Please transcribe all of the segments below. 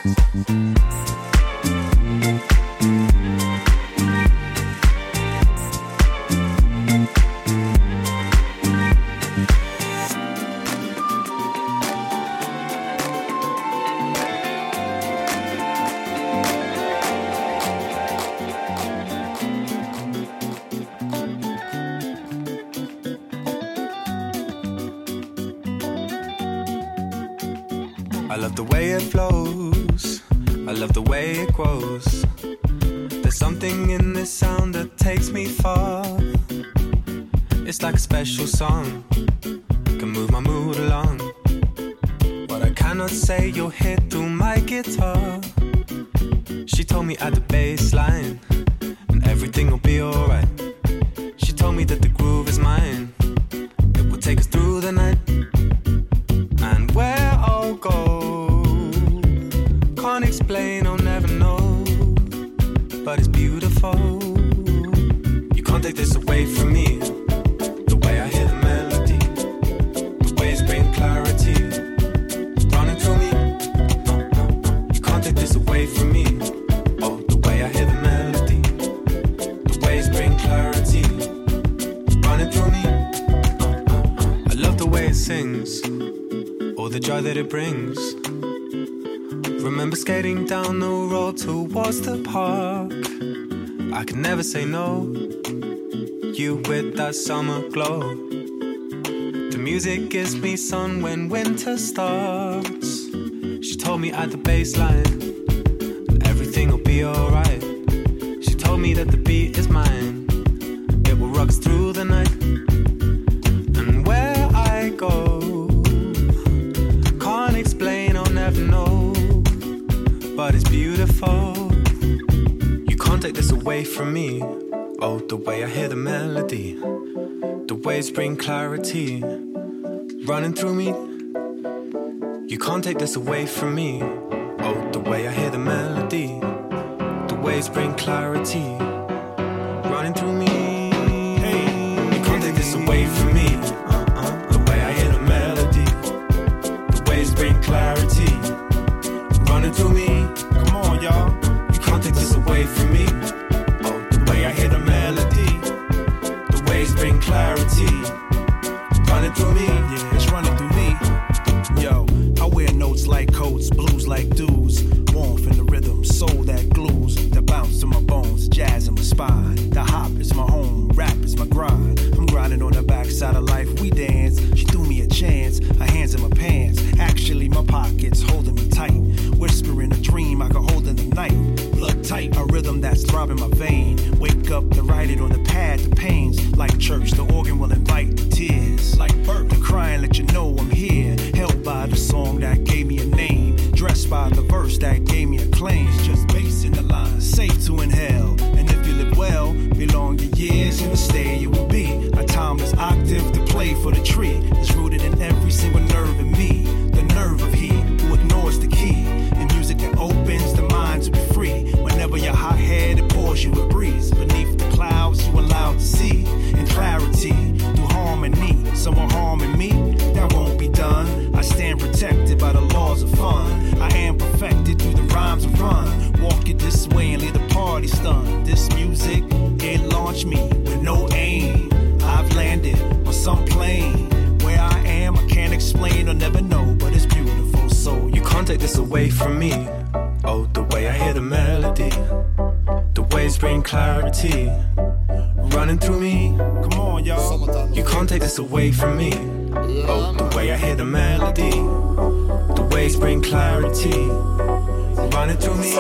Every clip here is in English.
I love the way it flows, I love the way it grows. There's something in this sound that takes me far. It's like a special song, can move my mood along. What I cannot say you'll hear through my guitar. She told me at the bass line, and everything will be alright. She told me that the groove is mine, it will take us through the night. And where I'll go, can't explain, I'll never know, but it's beautiful. You can't take this away from me. The way I hear the melody, the waves bring clarity, running through me. You can't take this away from me. Oh, the way I hear the melody, the waves bring clarity, running through me. I love the way it sings, all the joy that it brings. Remember skating down the road towards the park. I could never say no, you with that summer glow. The music gives me sun when winter starts. She told me at the bass line, everything will be alright. She told me that the beat is mine, it will rock us through the night. And where I go, can't explain, I'll never know, but it's beautiful. You can't take this away from me. Oh, the way I hear the melody, the waves bring clarity, running through me. You can't take this away from me. Oh, the way I hear the melody, the waves bring clarity, running through me. Hey, you can't take this away from me. The way I hear the melody, the waves bring clarity, running through me. Come on, y'all. You can't take this away from me. Oh, the way I hear the melody, the waves bring clarity, running through me. Yeah, it's running through me. Yo, I wear notes like coats, blues like dudes, warmth in the rhythm, soul that glues, that bounce to my bones, jazz in my spine. The hop is my home, rap is my grind. I'm grinding on the backside of life, we dance. She threw me a chance, her hands in my pants. Actually, my pockets holding me tight. Whispering a dream I could hold in the night. Blood tight, a rhythm that's throbbing my vein. Wake up to write it on the pad, the pains. Like church, the organ will invite the tears. Like birth, the crying, let you know I'm here. Held by the song that gave me a name. Dressed by the verse that gave me a claim. It's just bass in the line, safe to inhale. And if you live well, belong your years in the stay you will be. A timeless octave to play for the tree. It's rooted in every single nerve in me. The nerve of he who ignores the key. In music that opens the mind to be free. Whenever you're hot-headed, it pours you a breeze. Beneath the clouds you allow to see. In clarity, through harmony. Someone harming me, that won't be done. I stand protected by the laws of fun. I am perfected through the rhymes of run. Walk it this way and leave the party stunned. This music, it launched me with no aim. I've landed on some plane. Where I am, I can't explain or never know, but it's beautiful, so you can't take this away from me. Oh, the way I hear the melody, the waves bring clarity, running through me. Come on, y'all. You can't take this away from me. Oh, the way I hear the melody, the waves bring clarity, running through me.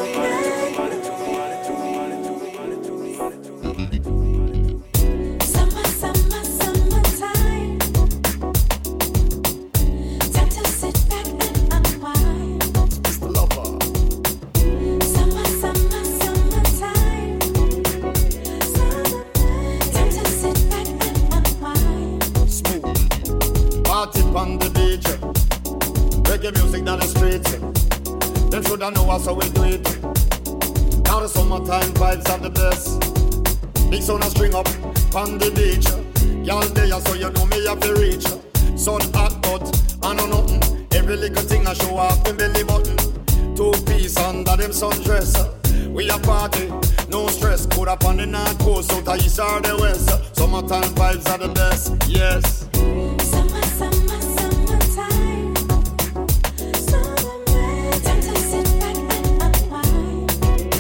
I know how we do it. Now the summertime vibes are the best. Big sun a string up on the beach. Y'all there so you know me have to reach. Sun hot but I know nothing. Every little thing I show off the belly button. Too them sundress. We a party, no stress. Put up on the north coast, south or east or the west. Summertime vibes are the best, yes. Summer, summer, summertime. Summer, time to sit back and unwind.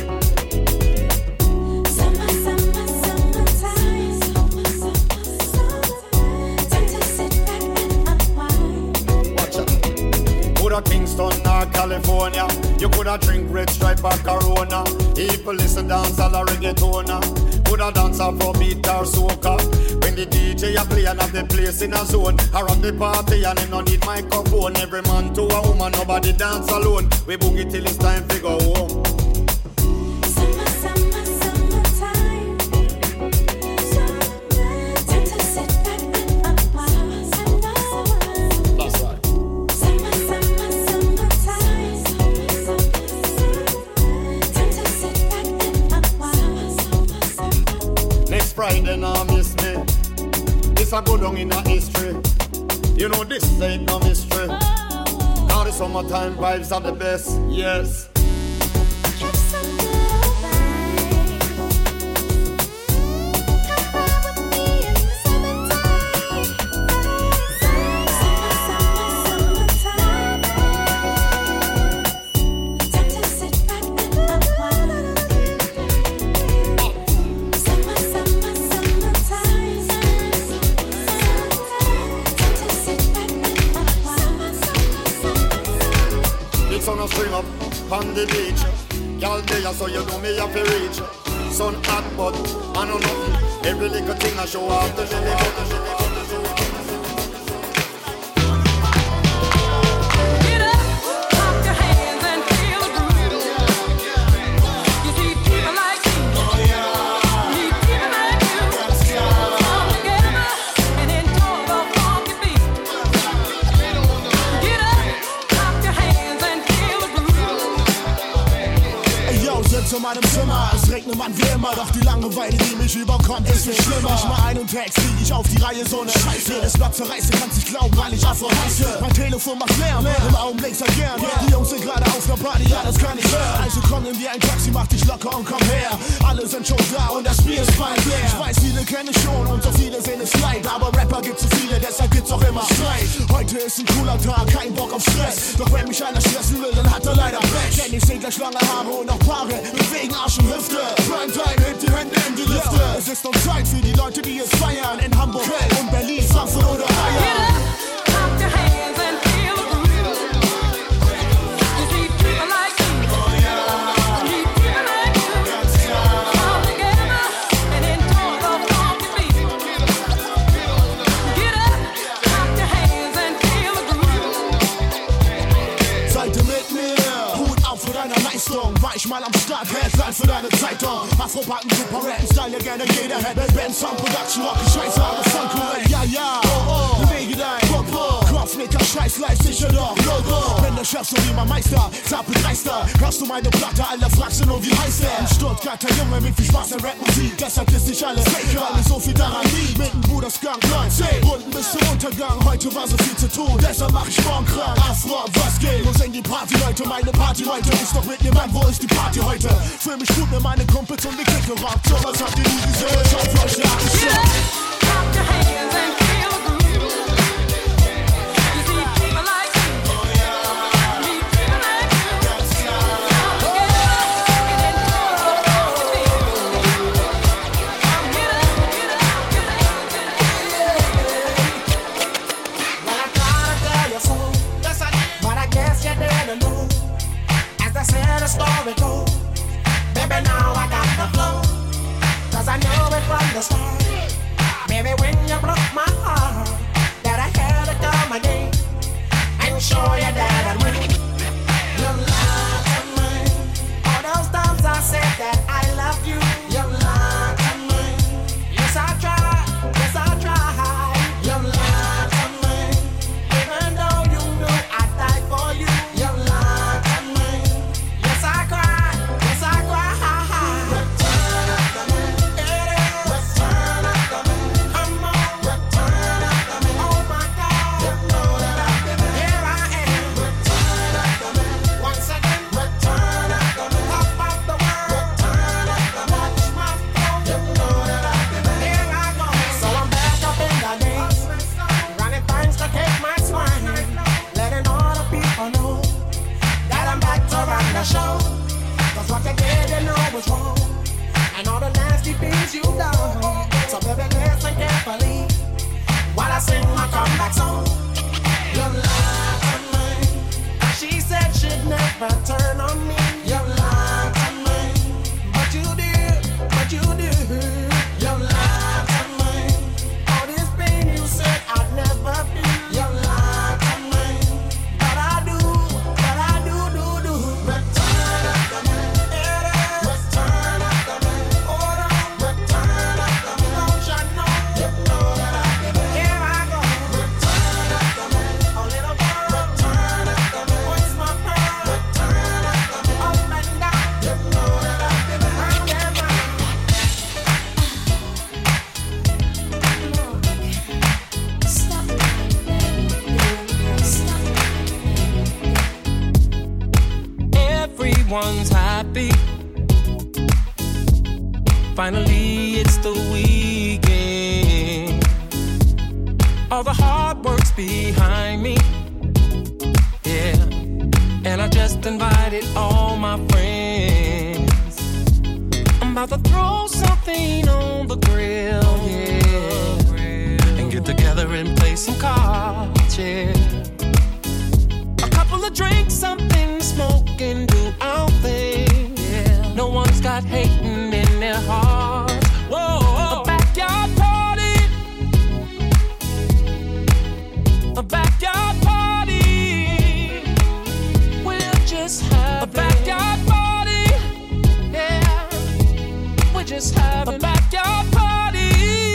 Summer, summer, summertime. Summer, summer, summertime. Time to sit back and unwind. Watch out. Coulda Kingston or California. You coulda drink Red Stripe or Corona. People listen dance all a reggaetona. Coulda dance Afrobeat or soca. When the DJ a play and have the place in a zone. Around the party and him no need microphone. Every man to a woman, nobody dance alone. We boogie till it's time to go home. Summer, summer, summertime. Summer, time to sit back and unwind. That's right. Summer, summer, summertime. Time to sit back and unwind. Next Friday now miss me. This a go down in a history. You know this ain't no mystery. Now the summertime vibes are the best, yes. Spring up on the beach. Y'all there so you know me have to reach. Sun hot but I know nothing. Every little thing I show off the jelly. Zu meinem Zimmer, es regnet man wie immer, doch die Langeweile, die mich überkommt, ist viel schlimmer. Ich mach einen Text, krieg ich auf die Reihe, so ne Scheiße. Jedes Blatt zerreiße, kannst nicht glauben, weil ich Afro heiße. Mein Telefon macht Lärm, im Augenblick sehr gern. Die Jungs sind gerade auf der Party, ja, das kann ich hören. Also komm in wie ein Taxi, mach dich locker und komm her. Alle sind schon da und das Bier ist bald leer. Ich weiß, viele kenne ich schon und so viele sehen es leid. Aber Rapper gibt's so viele, deshalb gibt's auch immer Streit. Heute ist ein cooler Tag, kein Bock auf Stress. Doch wenn mich einer stressen will, dann hat er leider Pech. Denn ich seh gleich lange Haare und auch Paare, bewegen Arsch und Hüfte. Primetime, hebt die Hände in die Lüfte. Es ist noch Zeit für die Leute, die es feiern. In Hamburg, Köln und Berlin, Frankfurt oder Bayern. War ich mal am Start, Headline für deine Zeitung. Afro-Backen, super Rap, Style, ja gerne jeder hätte. Band, Sound, Production, Rock, Scheiße, aber Fun, korrekt. Ja, ja, bewege dein Popo. Kopfnicker, Scheiß, live, sicher doch, Logo. Bin der Chef, so wie mein Meister, zappel dreister. Hörst du meine Platte, alle fragst du nur, wie heißt er? In Stuttgart, der Junge mit viel Spaß an Rap-Musik. Deshalb ist nicht alles Faker, weil so viel daran liegt. Mit dem Bruder Skunk, 19 Runden bis zum Untergang. Heute war so viel zu tun, deshalb mach ich morgen krank. Afro, was geht? Wo sind die Party-Leute? Meine Party-Leute ist doch mit mir, Mann, wo ist die Party heute? Fühl mich gut mit meinen Kumpels und die Clique rockt. So was habt ihr nie gesehen? Schaut für euch der Abend. Story go. Baby, now I got the flow. Cause I know it from the start. Baby, when you broke my heart, that I had to come again and show you that I'd win. You lied to me. All those times I said that I love you. You lied to me. Yes, I tried. Yes, I tried. You lied to me. Even though you knew I'd die for you. You lied to me. Yes, I cried. Yes, I cried. Return of the man. Return of the man. Come on. Return gotta show. Cause what you did, you know was wrong. And all the nasty things you done. So baby, listen carefully while I sing my comeback song. You lied to me. She said she'd never turn on me. You lied to me. But you did, but you did. You lied to me. All this pain you said I'd never feel. You lied to me. But I do, do. Return up the man. Return up the man. Return up the man. Don't you know? You know that I give it. Here I go. Return up the man. A little girl. Return up the man. What's my pearl? Return up the man. Up and down. You know that I give it. I can't mind. Stop, baby. Stop. Everyone's happy. Finally, it's the weekend. All the hard work's behind me. Yeah. And I just invited all my friends. I'm about to throw something on the grill, yeah. And get together and play some cards, yeah. A couple of drinks, something to smoke and do our thing. Yeah. No one's got hating in their hearts. Whoa, a backyard party. A backyard party. We'll just have a backyard party. Yeah. We'll just have a backyard party.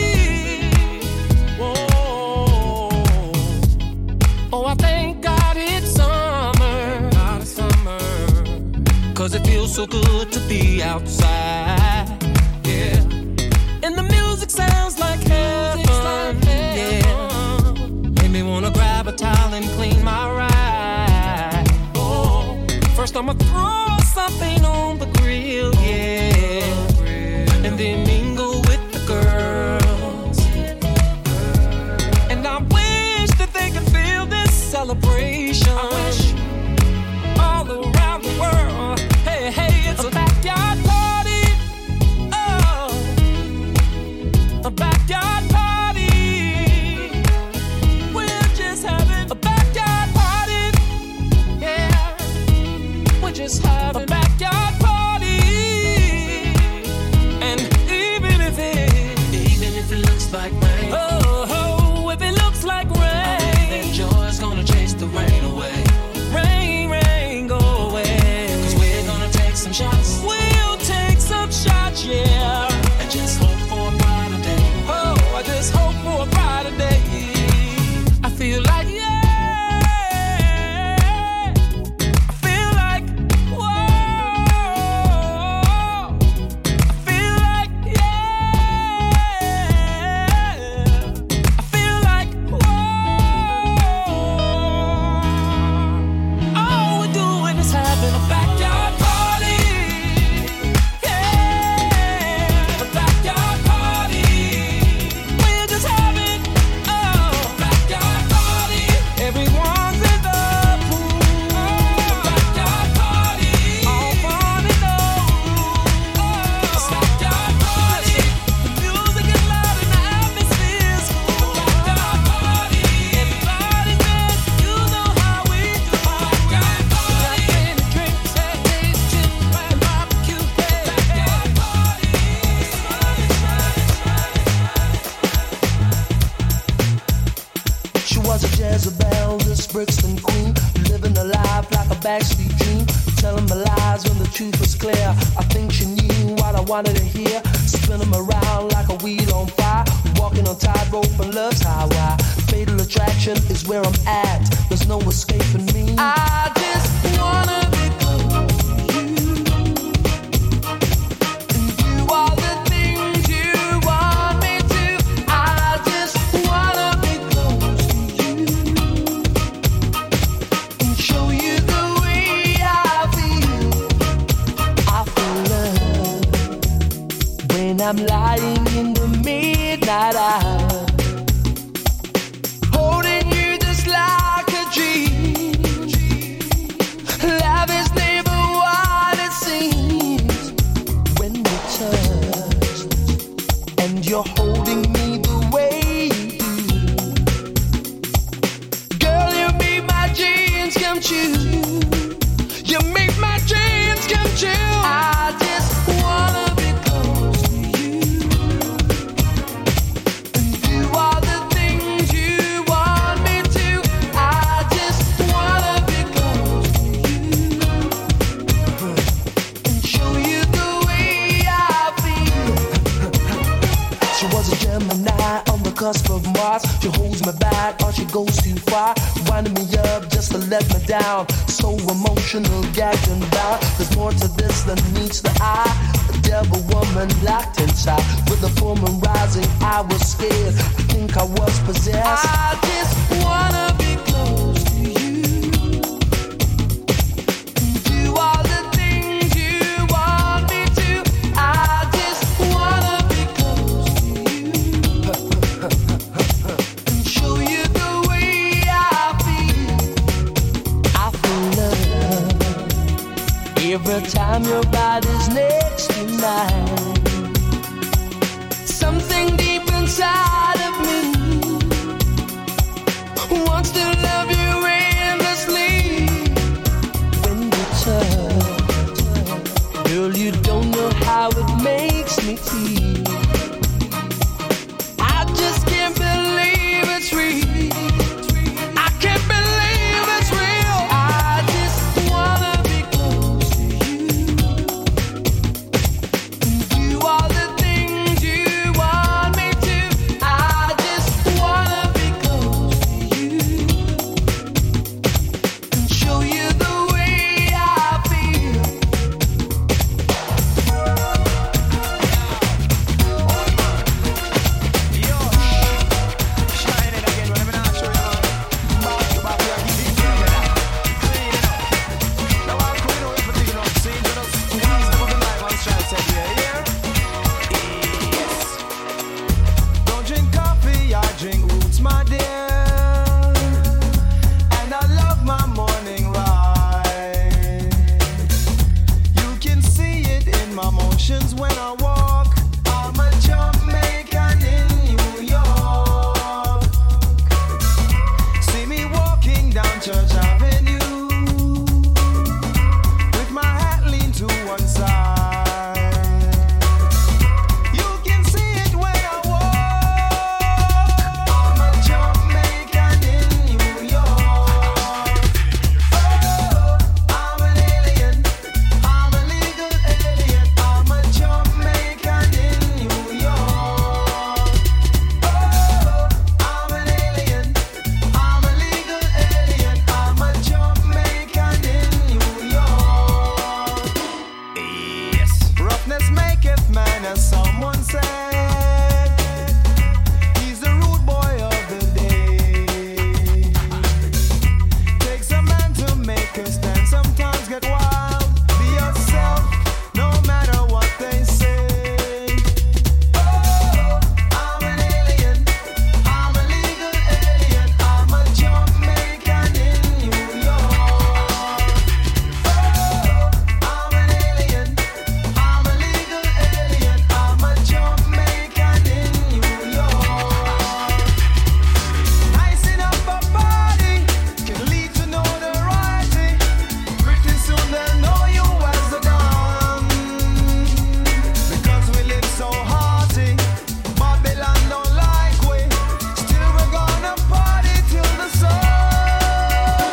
Whoa. Oh, I thank God it's summer. Cause it feels so good to be outside. Yeah. And the music sounds like heaven. Yeah. Made me wanna grab a towel and clean my ride. Oh. First I'ma throw something on the grill, yeah. And then mingle with the girls. And I wish that they could feel this celebration. I wish all around the world. Hey, hey, it's a backyard party. Oh, a backyard party. We're just having a backyard party. Yeah, we're just having a backyard party. And even if it looks like rain. Oh, if it looks like rain, I believe that joy's gonna chase the rain away. Rain, go away. Cause we're gonna take some shots. We'll take some shots, yeah. And just hope for a brighter day. Oh, I just hope for a brighter day. I feel like, yeah. I feel like, whoa. I feel like, yeah. I feel like, whoa. All we're doing is having a backyard party. Yeah, a backyard party. We're just having a backyard party. Everyone's in the pool. A backyard party. All fun and no rules. A backyard party. The music is loud and the atmosphere's cool. A backyard party. Everybody's there. You know how we do. A backyard party. And drinks and days, chips and barbecue. Backyard party. She was a Jezebel, this Brixton queen, living a life like a backstreet dream, telling my lies when the truth was clear. I think she knew what I wanted to hear, spin 'em around like a wheel on fire, walking on tightrope and love's highway. Fatal attraction is where I'm at, there's no escaping me. I just wanna be close to you, and do all the things you want me to. I just wanna be close to you, and show you the way I feel. I feel love when I'm lying in the midnight hour, holding you just like a dream. Love is never what She holds me back or she goes too far, winding me up just to let me down. So emotional, gagged and bound. There's more to this than meets the eye. A devil woman locked inside, with the full moon rising. I was scared. I think I was possessed. I just wanna be close to you. Do all the things you want me to. I just wanna be close to you. And show you the way I feel. I feel love every time your body's next to mine. Something deep inside of me wants to love you endlessly. When you touch, girl, you don't know how it makes me feel. I just can't believe it's real. I can't believe it's real. I just wanna be close to you. Do all the things you want me to. I just wanna be close to you and show you the way I feel. Don't drink coffee, I drink roots, my dear. And I love my morning ride. You can see it in my motions when I walk. I'm a Jamaican in New York. See me walking down Church Avenue with my hat leaned to one side. You can see it when I walk. I'm a Jamaican in New York. Oh, I'm an alien. I'm a legal alien. I'm a Jamaican in New York. Oh, I'm an alien. I'm a legal alien. I'm a Jamaican in New York. Yes. Roughness maketh man, as someone said. He's the rude boy of the day. Takes a man to make a stand. Sometimes get wild. Be yourself, no matter what they say. Oh, I'm an alien. I'm a legal alien. I'm a Jamaican in New York. Oh, I'm an alien. I'm a legal alien. I'm a Jamaican in New York. Icing up a body can lead to notoriety. Pretty soon they'll know you as a gun. Because we live so hearty, Babylon don't like we. Still we're gonna party till the sun.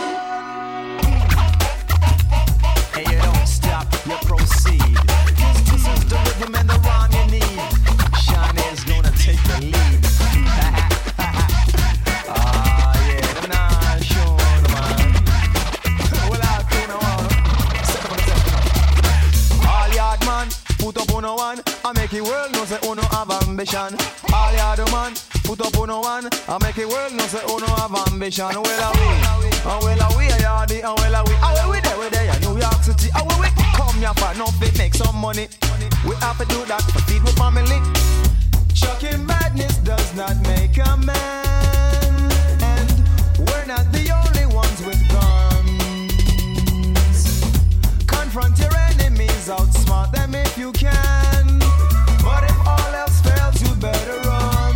Hey, you don't stop, you proceed. 'Cause this is the rhythm and the rhyme you need. Shawnee's gonna take the lead. Ah, yeah, them not sure, man. Well, I'll do no one. Set up on the set, all yard man, put up on one. I make the world know say uno have ambition. All yard man, put up on one. I make the world know say uno have ambition. Well, we are yardy, and we there, New York City. We come here for nothing, make some money. We have to do that to feed my family. Chucking badness does not make a man, and we're not the only ones with guns. Confront your enemies, outsmart them if you can. But if all else fails, you better run.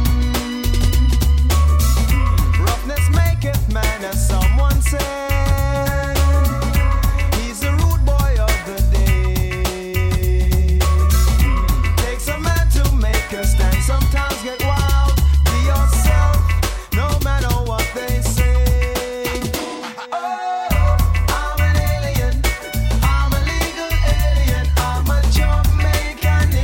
Roughness maketh man, as someone said. He's the rude boy of the day. Takes a man to make a stand. Sometimes get wild. Be yourself, no matter what they say. Oh, I'm an alien. I'm a legal alien. I'm a Jamaican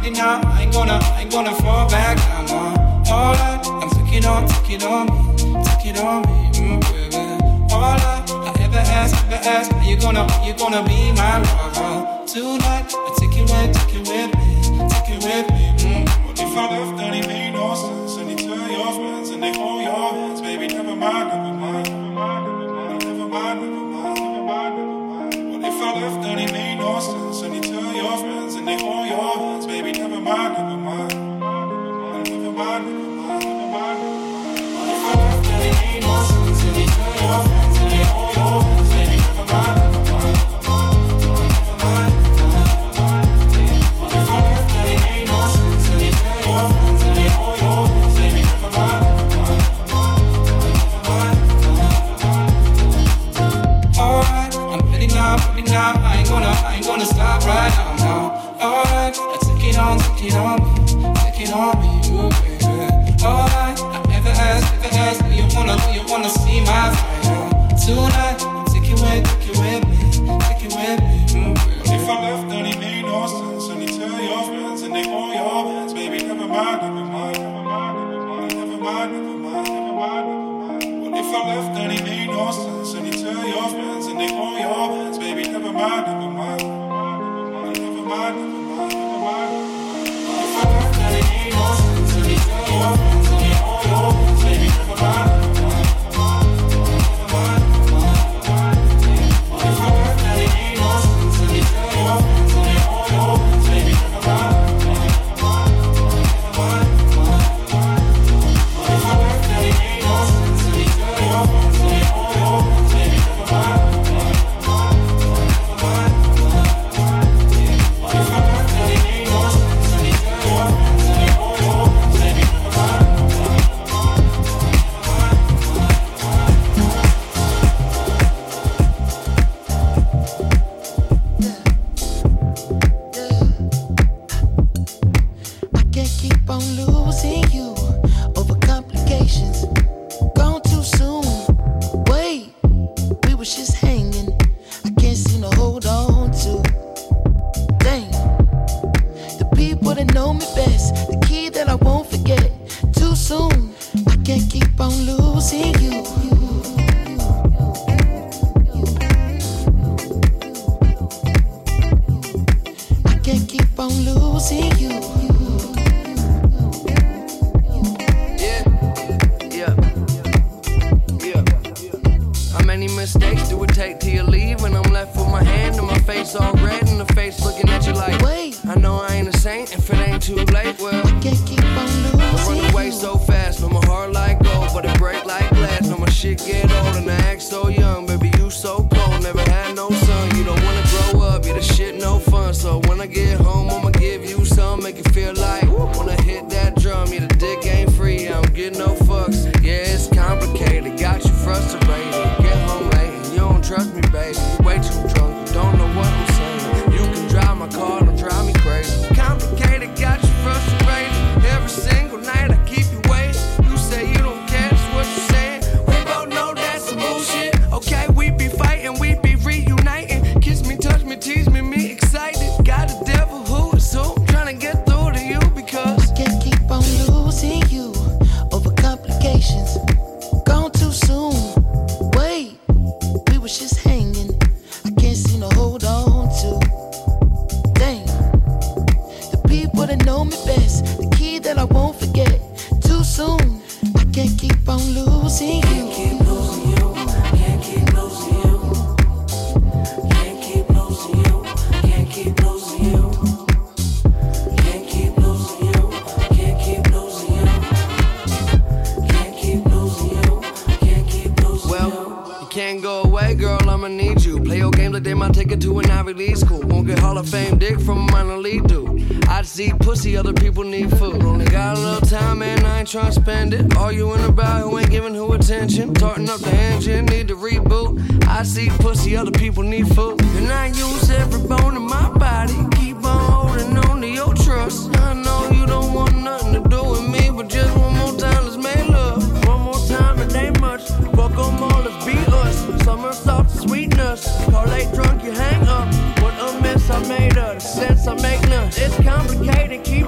with it now. I ain't gonna fall back down. No. All that, I'm take it on me, baby. All that I ever ask, are you gonna be my lover tonight? I take it with me. What if I left and it made no sense? And you tell your friends and they hold your hands, baby. Never mind. What if I left and it made no sense? And you tell your friends and they hold your hands, baby. Never mind. What if I left and it made no sense? And you tell your friends and they hold your hands, baby. Never mind. What if I left and it made no sense? And you tell your friends and they hold your hands, baby. Never mind. Alright, I'm ready now. I ain't gonna stop right now. Alright, take it on me, ooh, baby. Alright, I ever ask, do you wanna see my fire tonight? Take it with me, ooh, baby. If I left and it made no sense, and you tell your friends and they hold your hands, baby, never mind. What if I left and it made no sense, and you tell your friends and they hold your hands, baby, never mind. What if I left and it made no sense, and you tell your friends and they hold your hands, baby, never mind. What if I left and it made no sense, and you tell your friends and they hold your hands, baby, never mind. What if I left and it made no sense, and you tell your friends and they hold your hands, baby, never mind. What if I left and it made no sense, and you tell your friends and they hold your hands, baby, never mind. I can't keep on losing you over complications. Gone too soon. Wait, we was just hanging. I can't seem to hold on to. Dang, the people that know me best, the key that I won't forget. Too soon. I can't keep on losing you. I can't keep on losing you. How many mistakes do it take till you leave? When I'm left with my hand and my face all red and the face looking at you like, Wait, I know I ain't a saint if it ain't too late. Well, can't keep on I losing run away you. so fast, no my heart like gold, but it break like glass. No my shit get old and I act so young, baby you so cold. Never had no son, you don't wanna grow up, yeah the shit no fun. So when I get home, I'ma give you some, make you feel like wanna hit that drum. Yeah the dick ain't free, I don't get no fucks. Yeah it's complicated, got you frustrated. Get home late, and you don't trust me, baby. You way too drunk, you don't know what I'm saying. You can drive my car, don't drive me crazy. Complicated, got you frustrated. Every single night I keep you waiting. You say you don't care, that's what you're saying. We both know that's some bullshit. Okay, we be fighting, we be reuniting. Kiss me, touch me, tease me, me excited. Got a devil who is who, trying to get through to you because I can't keep on losing you over complications. Gone too soon. Wait, we was just hanging. I can't seem to hold on to. Dang, the people that know me best, the key that I won't forget. Too soon. I can't keep on losing you. can't keep losing you. Can't keep losing you. Can't keep losing you. Can't keep losing you. Can't keep losing you. Can't keep losing you. Can't keep losing you. Can't keep losing you. Well, you can't go away, girl. I'ma need you. Play your games like they might take it to an Ivy League school. Won't get Hall of Fame dick from a minor league dude. I see pussy, other people need food. Only got a little time and I ain't tryna spend it. Arguing about who ain't giving who attention. Tarting up the engine, need to reboot. I see pussy, other people need food. And I use every bone in my body. Keep on holding on to your trust. I know you don't want nothing to do with me, but just one more time, let's make love. One more time, it ain't much. Fuck 'em all, let's be us. Summer soft sweetness. Call late drunk, you hang up. What a mess I made of. The sense I make none. It's complicated, keep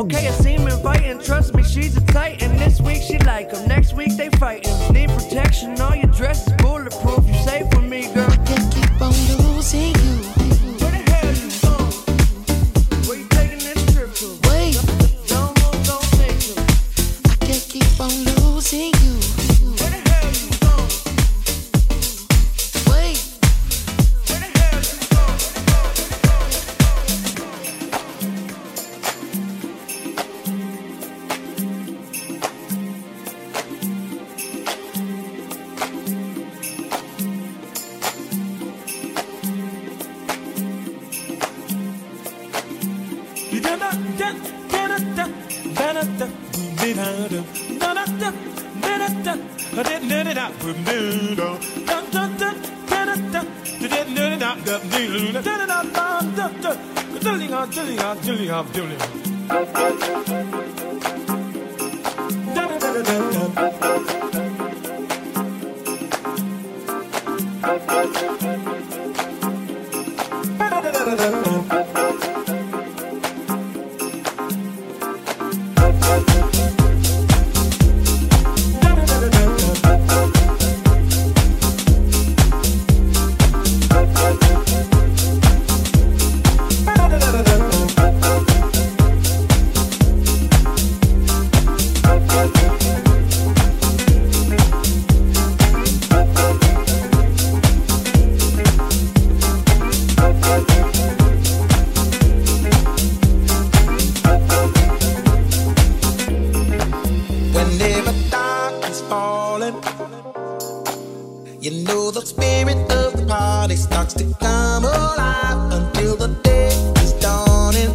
Okay, I seem inviting, trust me, she's a titan. This week she like 'em, next week they fighting. Need protection, all your dress is bulletproof. You safe with me, girl. I can't keep on losing you. Where the hell you going? Where you taking this trip to? Wait, Don't move, don't think to. I can't keep on losing you. Where the hell you going? Wait, Where the hell you going? Whenever dark is falling, you know the spirit of the party starts to come alive until the day is dawning.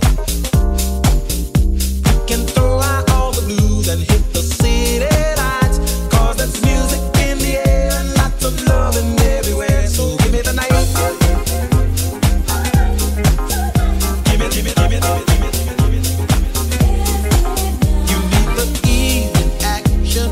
You can throw out all the blues and hit the city lights, 'cause there's music in the air and lots of loving everywhere. So give me the night. Give me, give me, give me, give me, give me, give me, give me, give me. You need the evening action,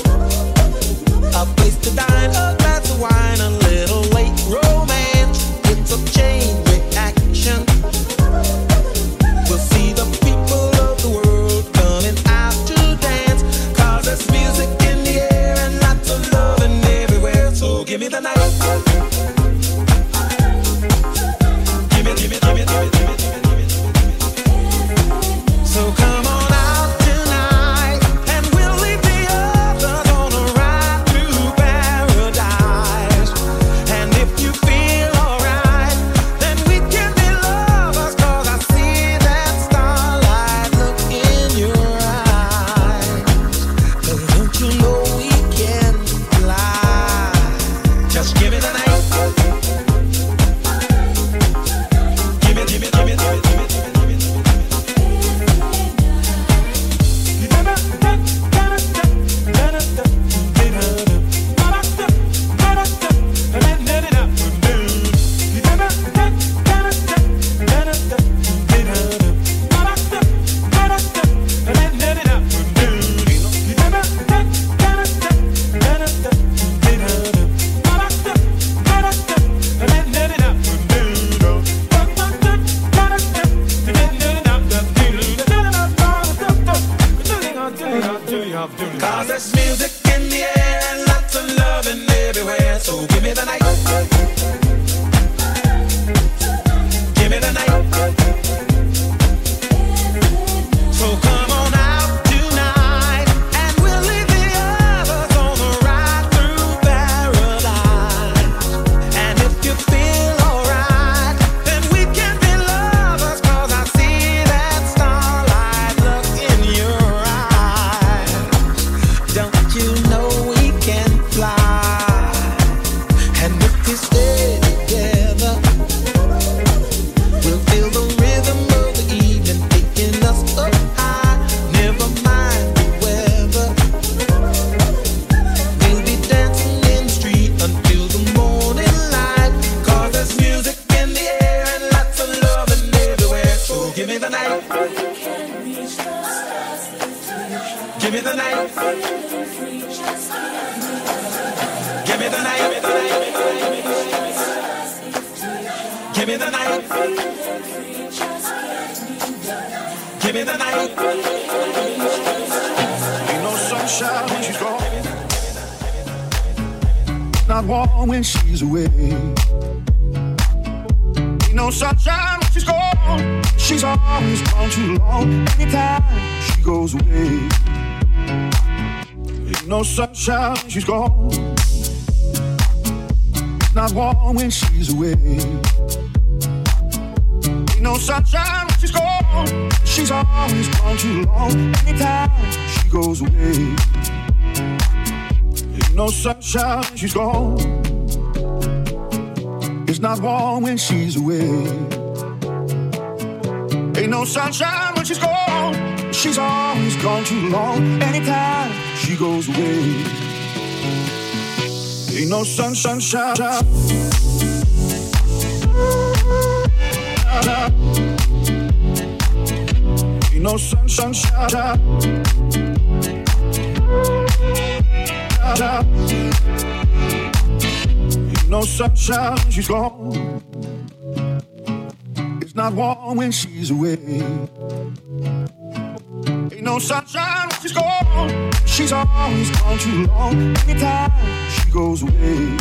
a place to dine, a glass of wine, a little late romance. It's a chain reaction. We'll see the people of the world coming out to dance, 'cause there's music in the air and lots of loving everywhere. So give me the night. Give me, give me, give me, give me, give me, give me, give me, give me. So come on out tonight, and we'll leave the others on a ride through paradise. And if you feel alright, then we can be lovers, 'cause I see that starlight look in your eyes. 'Cause don't you know we can fly? Just give me the night. Give me, give me, give me, give me, give me, give me, give me, give me. Cause there's music in the air and lots of loving everywhere. So give me the night. Give me the night. So come on out tonight, and we'll leave the others on the ride through paradise. And if you feel alright, then we can be lovers, 'cause I see that starlight look in your eyes. Don't you know we can fly? And if we stay together, we'll feel the rhythm of the evening taking us up high. Never mind the weather, we'll be dancing in the street until the morning light. 'Cause there's music in the air and lots of loving everywhere. So give me the night. Give me the night. Give me the night. Give me the night. Give me the night. Give me the night. Ain't no sunshine when she's gone. Not warm when she's away. Ain't no sunshine when she's gone. She's always gone too long. Anytime she goes away. Ain't no sunshine when she's gone. Not warm when she's away. Ain't no sunshine when she's gone. She's always gone too long. Anytime she goes away. Ain't no sunshine when she's gone. It's not warm when she's away. Ain't no sunshine when she's gone. She's always gone too long. Anytime she goes away. Ain't no sunshine. Ain't no sunshine. Ain't no sunshine, she's gone. It's not warm when she's away. Ain't no sunshine when she's gone. She's always gone too long. Anytime she goes away.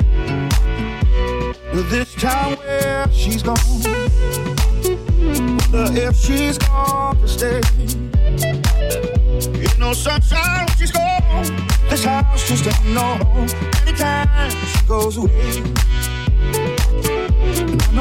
This time where she's gone, wonder if she's gone to stay. Ain't no sunshine when she's gone. This house just ain't no home. Anytime she goes away. I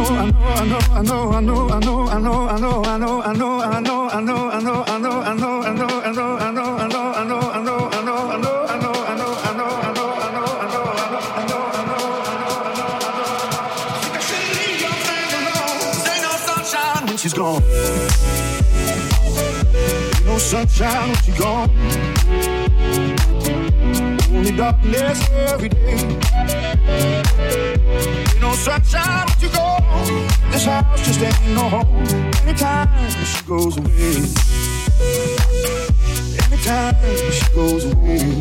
she's gone. Ain't no sunshine when she's gone. Only darkness every day. Ain't no sunshine when she's gone. This house just ain't no home. Anytime she goes away. Anytime she goes away.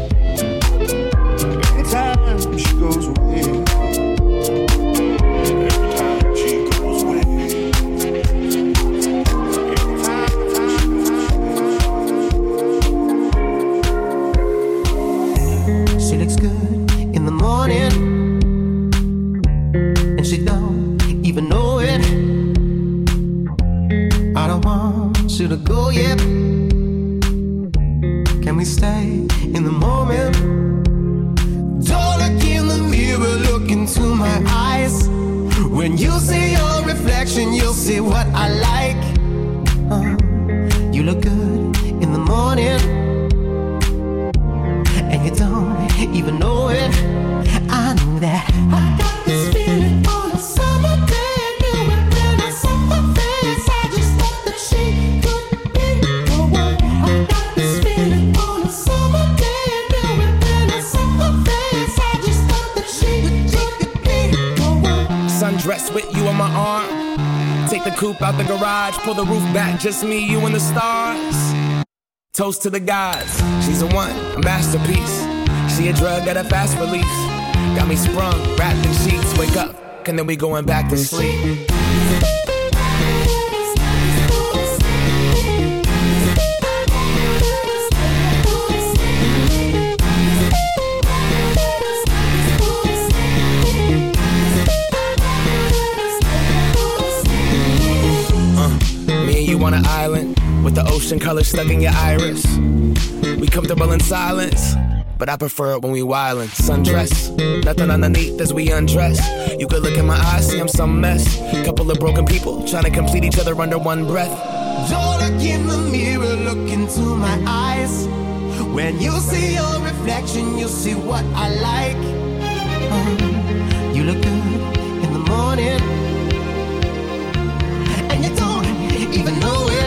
Anytime she goes away. And she don't even know it. I don't want you to go yet. Can we stay in the moment? Don't look in the mirror, look into my eyes. When you see your reflection, you'll see what I like. You look good in the morning, and you don't even know it. I know that. I got this feeling on a summer day. I knew it when I saw her face. I just thought that she could be the one. I got this feeling on a summer day. I knew it when I saw her face. I just thought that she could be the one. Sundress with you on my arm. Take the coupe out the garage. Pull the roof back. Just me, you, and the stars. Toast to the gods. She's a one, a masterpiece. She a drug at a fast release. Got me sprung, wrapped in sheets. Wake up, and then we going back to sleep. Me and you on an island with the ocean color stuck in your iris. We comfortable in silence, but I prefer it when we wildin'. Sundress, nothing underneath as we undress. You could look in my eyes, see I'm some mess. Couple of broken people trying to complete each other under one breath. Don't look in the mirror, look into my eyes. When you see your reflection, you'll see what I like. You look good in the morning, and you don't even know it.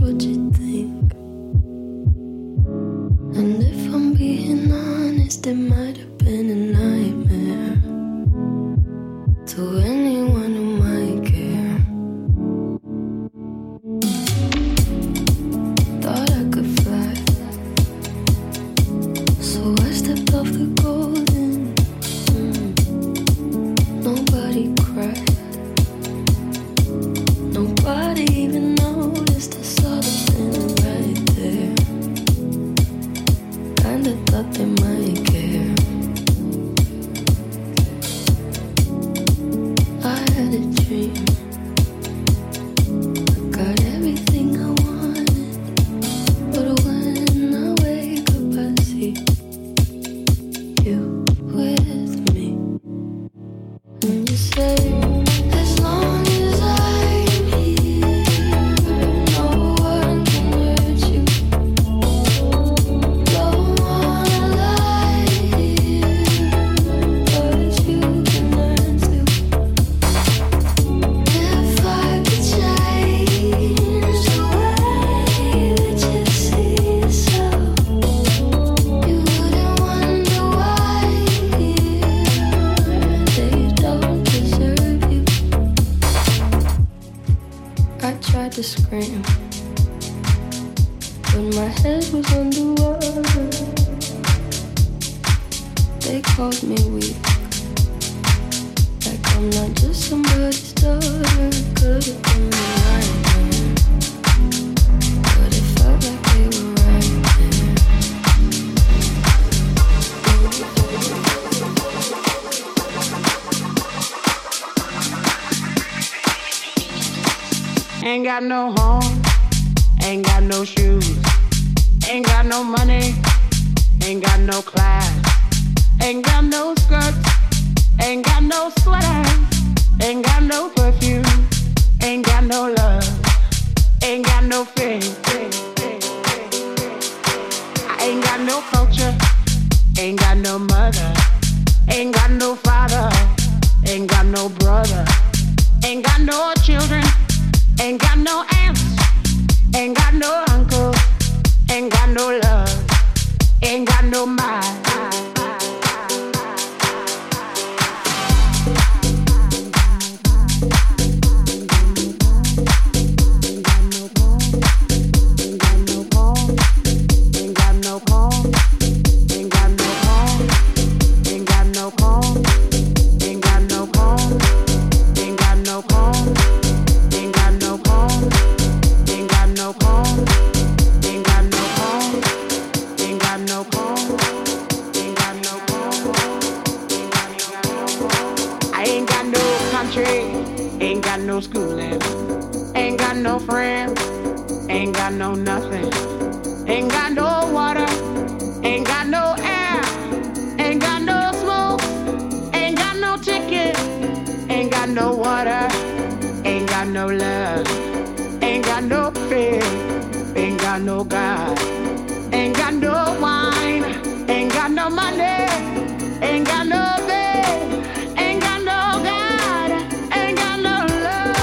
what you think. And if I'm being honest, it might have been a nightmare to anyone who might care. Thought I could fly, so I stepped off the golden. Nobody cried. Nobody even noticed I saw the thing right there. Kinda thought they might care. I had a dream. I got everything I wanted, but when I wake up I see you with me. And you say, as long as I'm here, no one can hurt you. Don't wanna lie here, but you can learn to. If I could change the way that you see yourself, you wouldn't wonder why they don't deserve you. I tried to scream, but my head was underwater. They called me weak, like I'm not just somebody's daughter. Could've been a nightmare, but it felt like they were right there. Ain't got no home, ain't got no shoes, ain't got no money, ain't got no class, ain't got no skirts, ain't got no sweaters, ain't got no perfume, ain't got no love, ain't got no faith. I ain't got no culture, ain't got no mother, ain't got no father, ain't got no brother, ain't got no children. Ain't got no aunts, ain't got no uncle, ain't got no love, ain't got no mind. Ain't got no schooling, ain't got no friends, ain't got no nothing, ain't got no water, ain't got no air, ain't got no smoke, ain't got no ticket, ain't got no water, ain't got no love, ain't got no faith, ain't got no God, ain't got no wine, ain't got no money, ain't got no faith, ain't got no God, ain't got no love.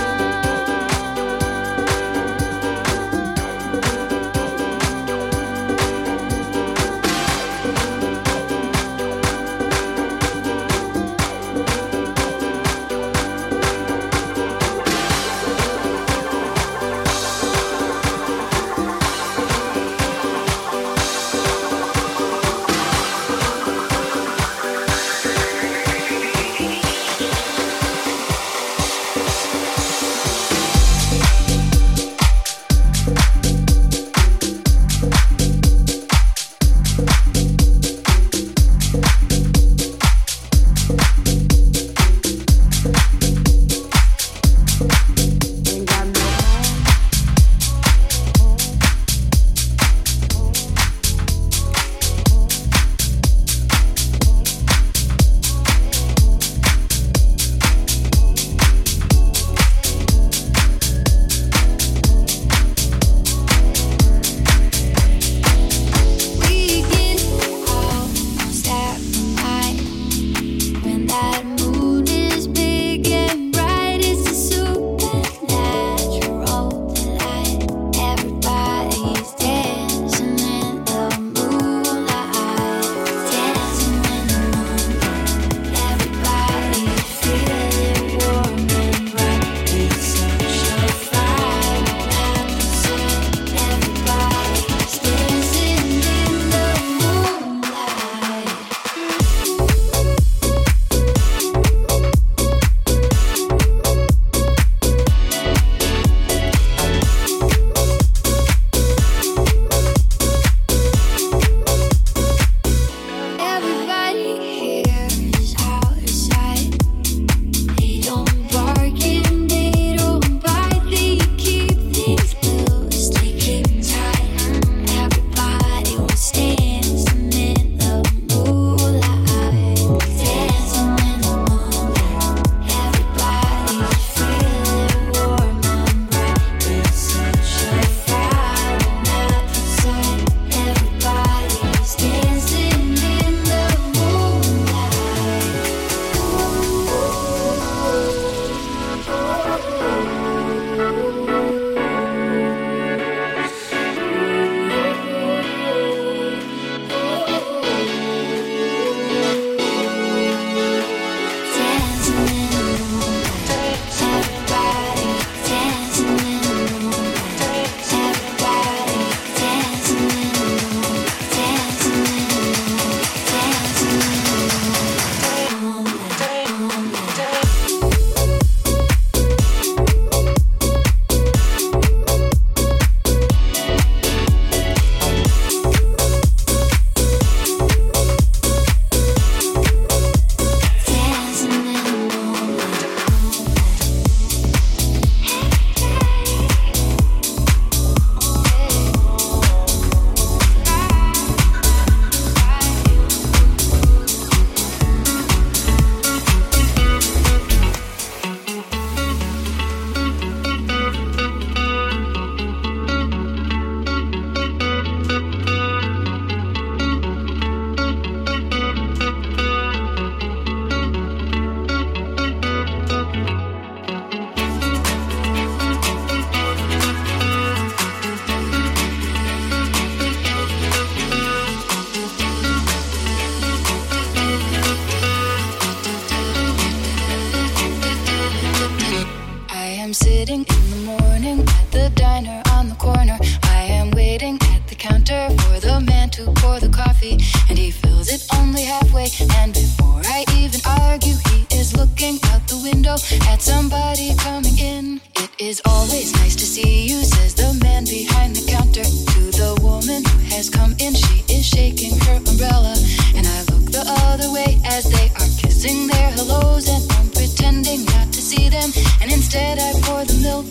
to pour the coffee, and he fills it only halfway. And before I even argue, he is looking out the window at somebody coming in. It is always nice to see you, says the man behind the counter to the woman who has come in. She is shaking her umbrella, and I look the other way as they are kissing their hellos, and I'm pretending not to see them, and instead I pour the milk.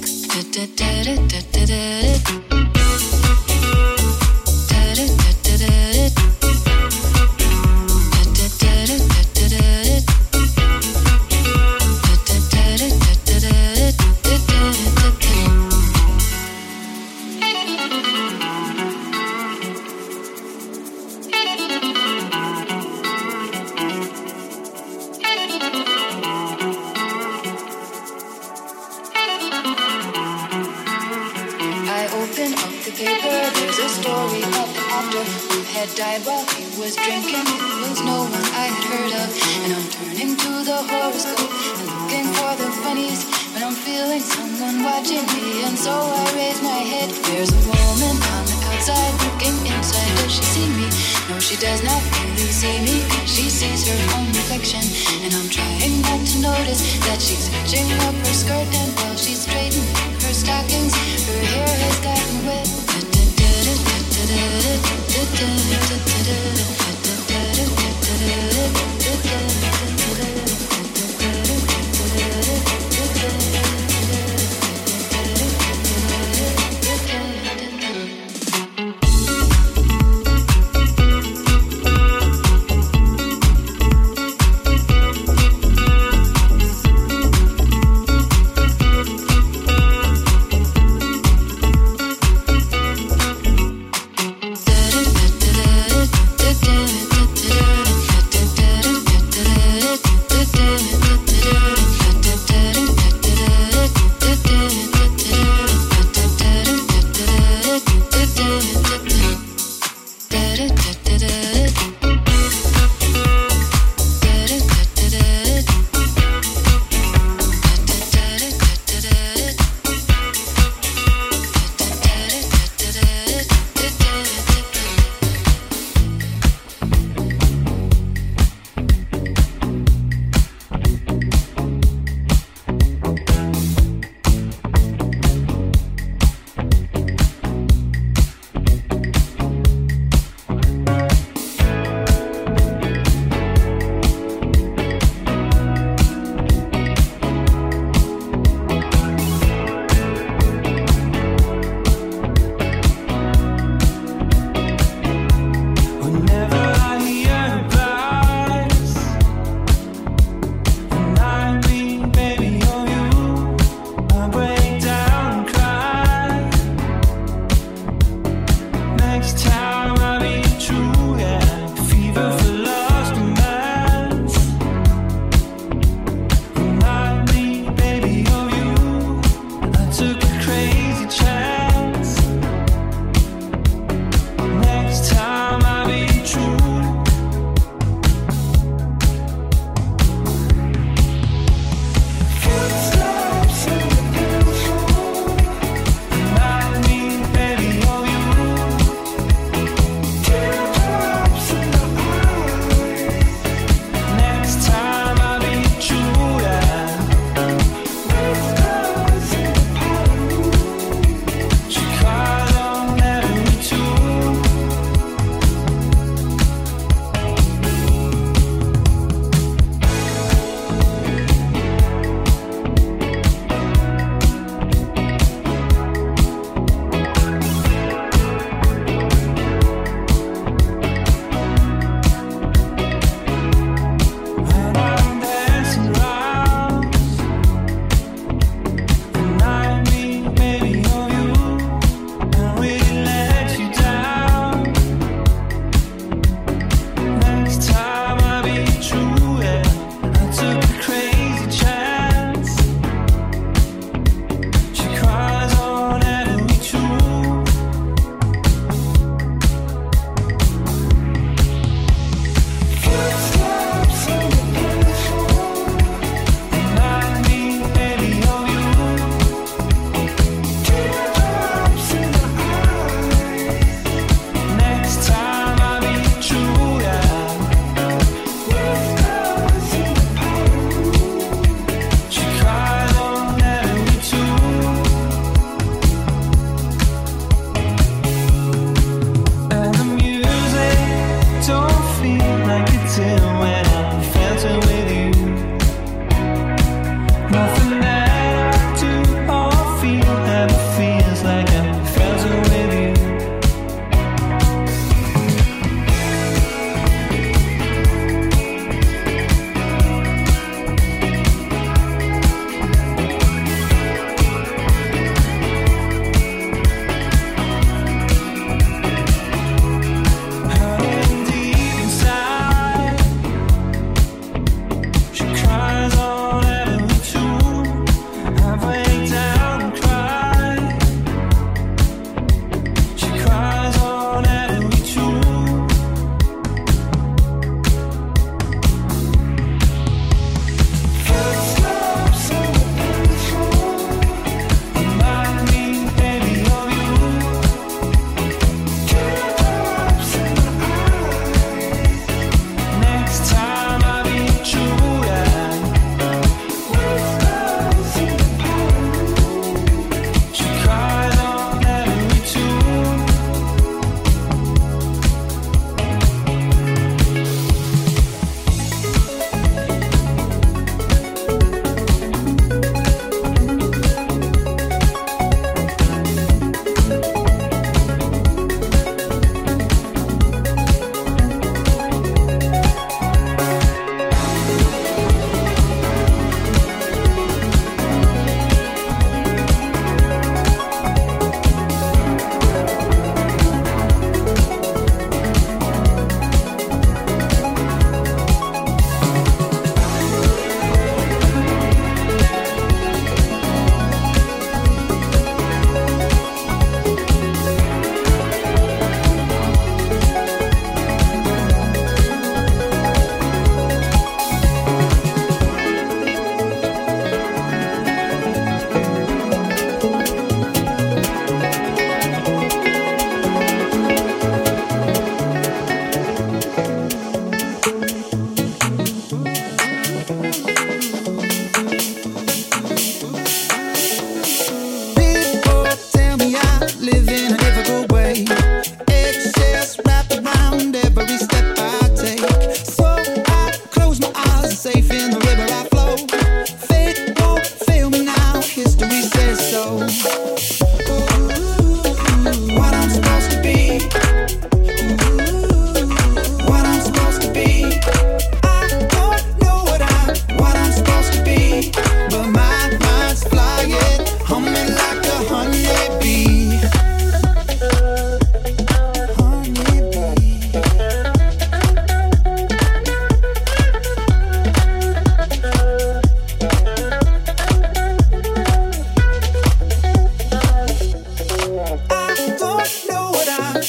Died while he was drinking. It was no one I had heard of, and I'm turning to the horoscope and looking for the funnies, but I'm feeling someone watching me, and so I raise my head. There's a woman on the outside looking inside. Does she see me? No, she does not really see me. She sees her own reflection, and I'm trying not to notice that she's hitching up her skirt, and while she's straightening her stockings, her hair has gotten wet.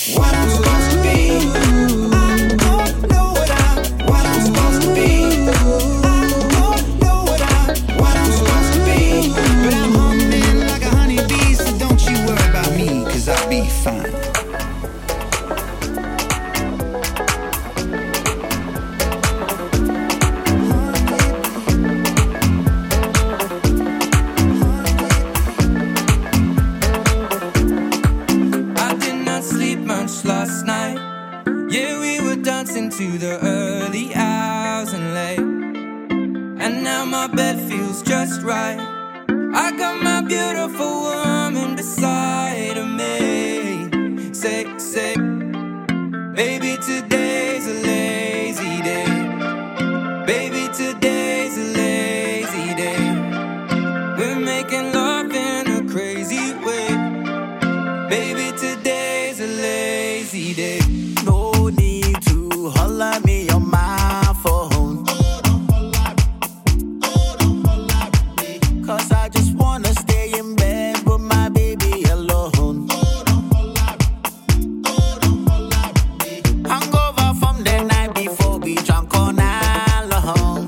what I'm supposed to be. I don't know what I'm supposed to be. I don't know what I'm supposed to be. But I'm humming like a honeybee, so don't you worry about me, 'cause I'll be fine. Last night, yeah, we were dancing to the early hours and late, and now my bed feels just right. I got my beautiful woman beside of me. Say, baby, today's a lazy day. Baby, today's a lazy day. We're making love in a crazy way. Baby, today's a lazy day. No need to holler me on my phone. 'Cause I just wanna stay in bed with my baby alone. Hangover from the night before, we drank all night long.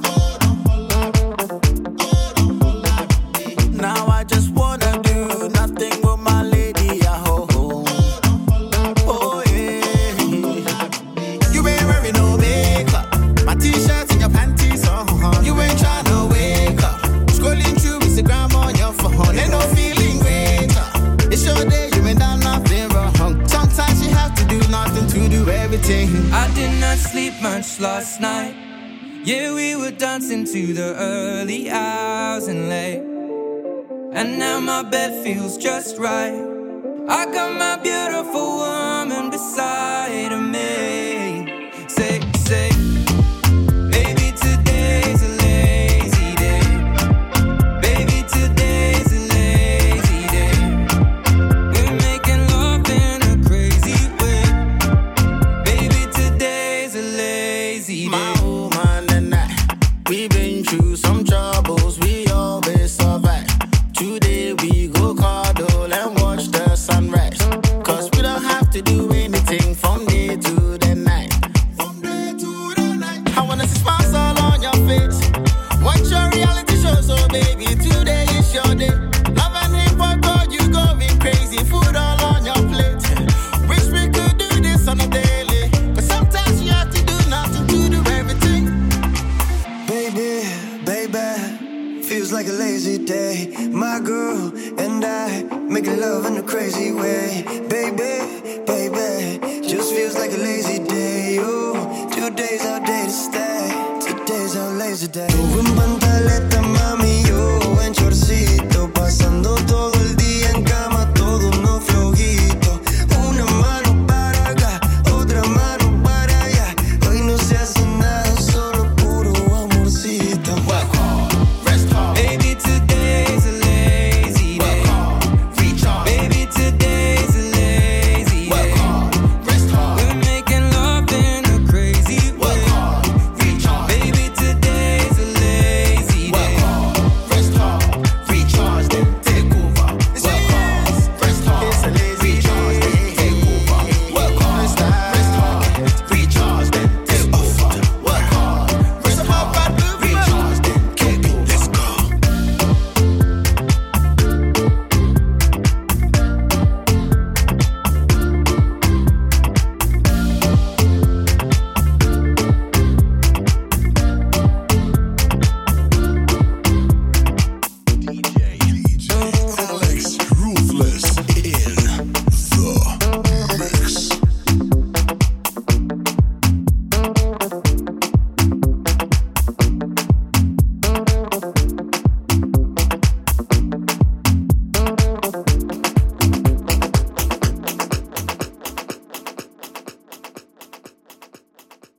Now I just wanna do nothing with my lady at home. Oh yeah. You ain't wearing no makeup, my t-shirts and your panties on. You ain't tryna wake up, scrolling through Instagram on your phone. Ain't no feeling greater. It's your day, you ain't done nothing wrong. Sometimes you have to do nothing to do everything. I did not sleep much last night. Yeah, we were dancing to the early hours and late, and now my bed feels just right. I got my beautiful woman beside of me. Say, baby, today's a lazy day. Baby, today's a lazy day. We're making love in a crazy way. Baby, today's a lazy day. My woman and I, we've been through some troubles, we always survive. Today we go cuddle and watch the sunrise. 'Cause we don't have to do anything from day to the night. From day to the night. I wanna see smiles all on your face. Watch your reality show, so baby, today is your day. Love and hip hop, God, you going crazy. Food all on your plate. Wish we could do this on a daily, but sometimes you have to do nothing to do everything. Baby, feels like a lazy day. My girl and I making love in a crazy way. Baby, just feels like a lazy day. Oh, today's our day to stay. Today's our lazy day. Tuwing pantaleta